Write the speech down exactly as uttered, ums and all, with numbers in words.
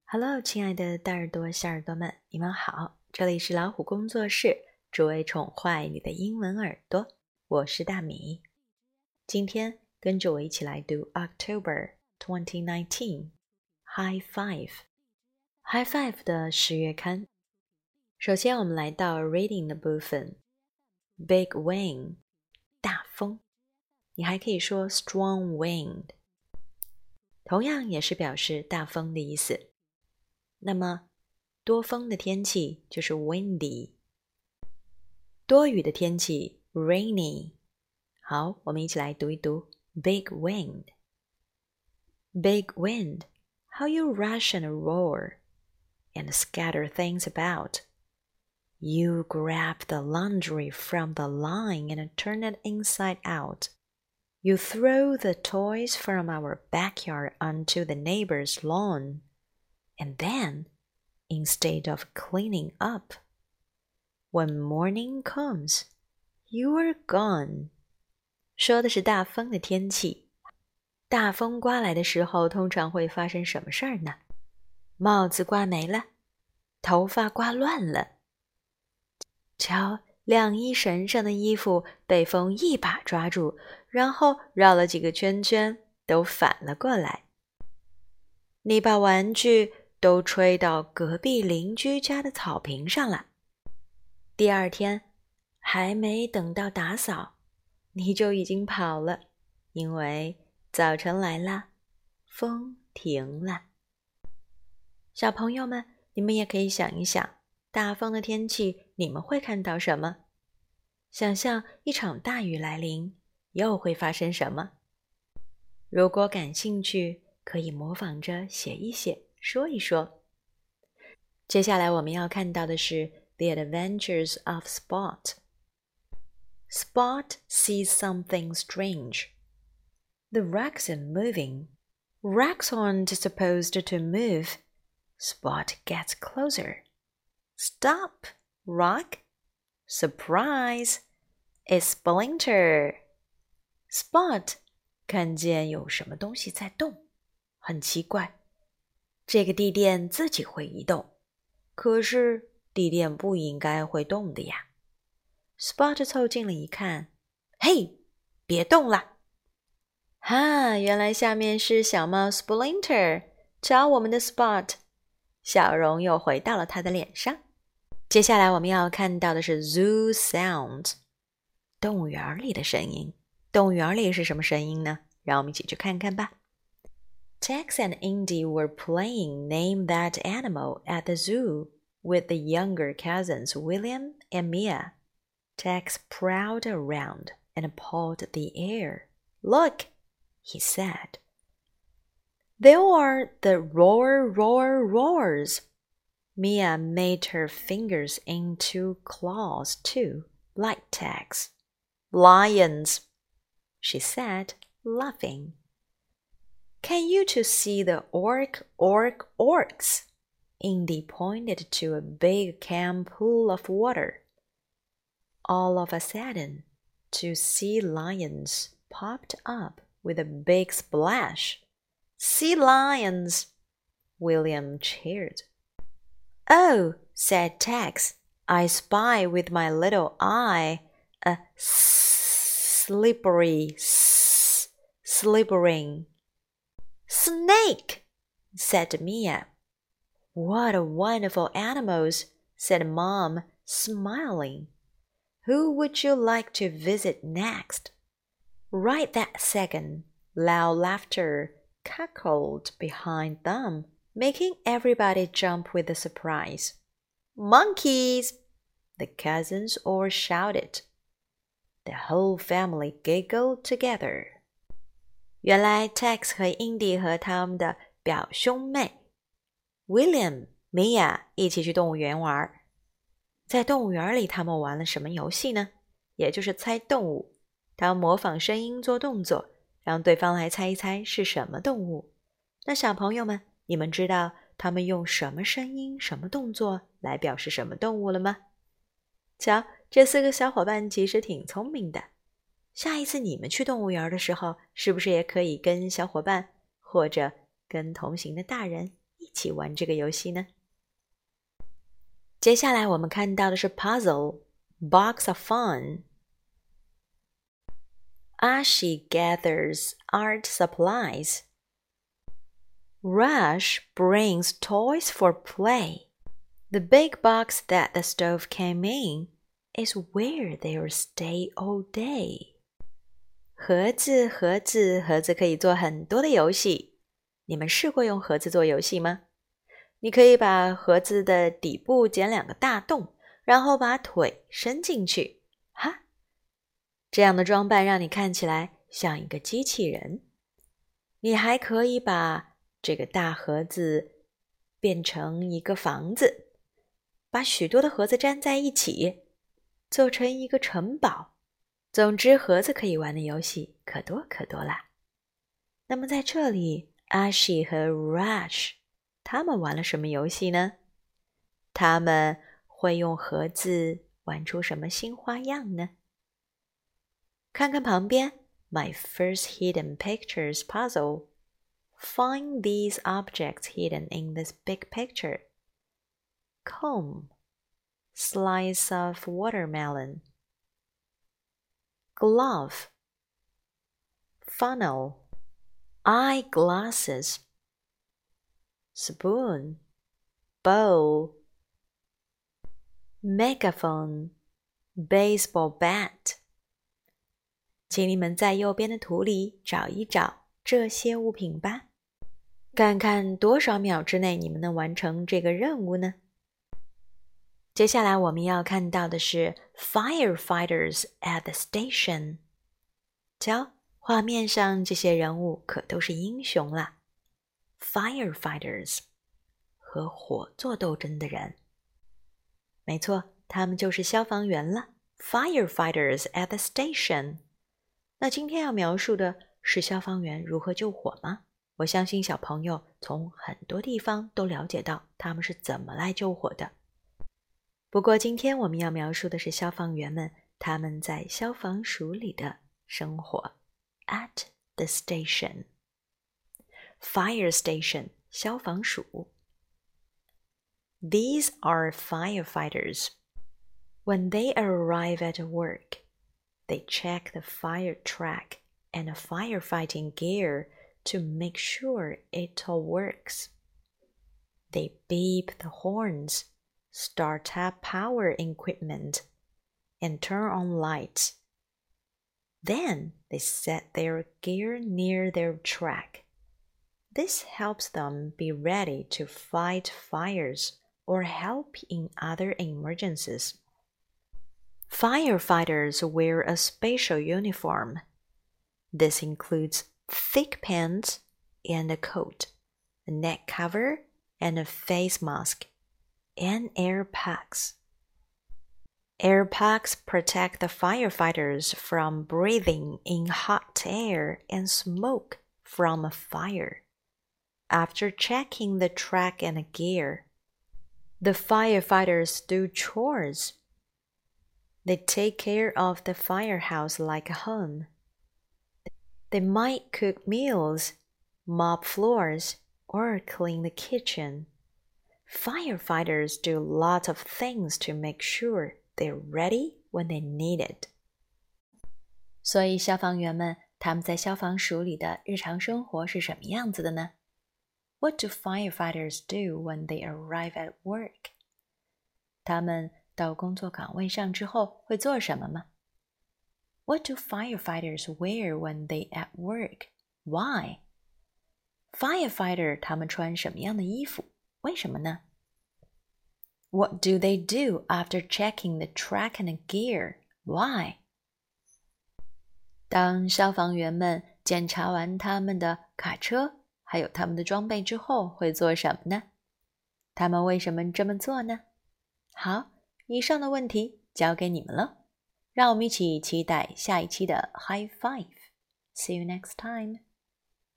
Hello， 亲爱的大耳朵、小耳朵们，你们好！这里是老虎工作室，只为宠坏你的英文耳朵。我是大米。今天跟着我一起来读 October twenty nineteen High Five。High Five 的十月刊。首先我们来到 Reading 的部分。Big wind， 大风。你还可以说 strong wind， 同样也是表示大风的意思。那么多风的天气就是 windy， 多雨的天气 rainy。 好，我们一起来读一读 Big wind。 Big wind, how you rush and roar and scatter things about. You grab the laundry from the line and turn it inside out. You throw the toys from our backyard onto the neighbor's lawn. And then, instead of cleaning up, when morning comes, you are gone. 说的是大风的天气。大风刮来的时候，通常会发生什么事儿呢？帽子刮没了，头发刮乱了。瞧，晾衣绳上的衣服被风一把抓住，然后绕了几个圈圈，都反了过来。你把玩具都吹到隔壁邻居家的草坪上了。第二天，还没等到打扫，你就已经跑了，因为早晨来了，风停了。小朋友们，你们也可以想一想，大风的天气你们会看到什么？想象一场大雨来临，又会发生什么？如果感兴趣，可以模仿着写一写，说一说。接下来我们要看到的是 The Adventures of Spot. Spot sees something strange. The rocks are moving. Rocks aren't supposed to move. Spot gets closer. Stop, Rock. Surprise, it's Splinter. Spot 看见有什么东西在动，很奇怪，这个地垫自己会移动，可是地垫不应该会动的呀。Spot 凑近了一看，嘿，别动了！哈，原来下面是小猫 Splinter， 瞧我们的 Spot， 笑容又回到了他的脸上。接下来我们要看到的是 Zoo Sounds， 动物园里的声音。动物园里是什么声音呢？让我们一起去看看吧。Tex and Indy were playing Name That Animal at the zoo with the younger cousins William and Mia. Tex prowled around and pawed the air. Look, he said. There are the roar, roar, roars. Mia made her fingers into claws too, like Tex. Lions, she said, laughing. Can you two see the orc, orc, orcs? Indy pointed to a big calm pool of water. All of a sudden, two sea lions popped up with a big splash. Sea lions! William cheered. Oh, said Tex, I spy with my little eye a slippery, slithering. Snake, said Mia. What wonderful animals, said Mom, smiling. Who would you like to visit next? Right that second, loud laughter cackled behind them, making everybody jump with the surprise. Monkeys! The cousins all shouted. The whole family giggled together. 原来 Tex 和 Indy 和他们的表兄妹 William、Mia 一起去动物园玩。在动物园里他们玩了什么游戏呢？也就是猜动物。他们模仿声音做动作，让对方来猜一猜是什么动物。那小朋友们，你们知道他们用什么声音、什么动作来表示什么动物了吗？瞧，这四个小伙伴其实挺聪明的。下一次你们去动物园的时候，是不是也可以跟小伙伴或者跟同行的大人一起起玩这个游戏呢？接下来我们看到的是 puzzle box of fun. Ashi gathers art supplies. Rush brings toys for play. The big box that the stove came in is where they'll stay all day. 盒子，盒子，盒子可以做很多的游戏。你们试过用盒子做游戏吗？你可以把盒子的底部剪两个大洞，然后把腿伸进去。哈，这样的装扮让你看起来像一个机器人。你还可以把这个大盒子变成一个房子，把许多的盒子粘在一起，做成一个城堡。总之，盒子可以玩的游戏可多可多啦。那么在这里 Ashi 和 Rush 他们玩了什么游戏呢？他们会用盒子玩出什么新花样呢？看看旁边 My first hidden pictures puzzle. Find these objects hidden in this big picture. Comb, slice of watermelon, glove, funnel, eyeglasses, spoon, bowl, megaphone, baseball bat. 请你们在右边的图里找一找这些物品吧，看看多少秒之内你们能完成这个任务呢？接下来我们要看到的是 Firefighters at the station。 瞧，画面上这些人物可都是英雄啦。 Firefighters 和火做斗争的人，没错，他们就是消防员了。 Firefighters at the station。 那今天要描述的是消防员如何救火吗？我相信小朋友从很多地方都了解到他们是怎么来救火的。不过今天我们要描述的是消防员们他们在消防署里的生活。 At the station. Fire station 消防署。 These are firefighters. When they arrive at work, they check the fire truck and the firefighting gear to make sure it all works. They beep the horns, start up power equipment, and turn on lights. Then they set their gear near their truck. This helps them be ready to fight fires or help in other emergencies. Firefighters wear a special uniform. This includes thick pants and a coat, a neck cover and a face mask, and air packs. Air packs protect the firefighters from breathing in hot air and smoke from a fire. After checking the truck and gear, the firefighters do chores. They take care of the firehouse like a home. They might cook meals, mop floors, or clean the kitchen. Firefighters do lots of things to make sure they're ready when they need it. 所以消防员们他们在消防署里的日常生活是什么样子的呢？ What do firefighters do when they arrive at work? 他们到工作岗位上之后会做什么吗？ What do firefighters wear when they at work? Why? Firefighter 他们穿什么样的衣服？为什么呢？ What do they do after checking the truck and gear? Why? 当消防员们检查完他们的卡车还有他们的装备之后会做什么呢？他们为什么这么做呢？好，以上的问题交给你们了，让我们一起期待下一期的 High Five. See you next time.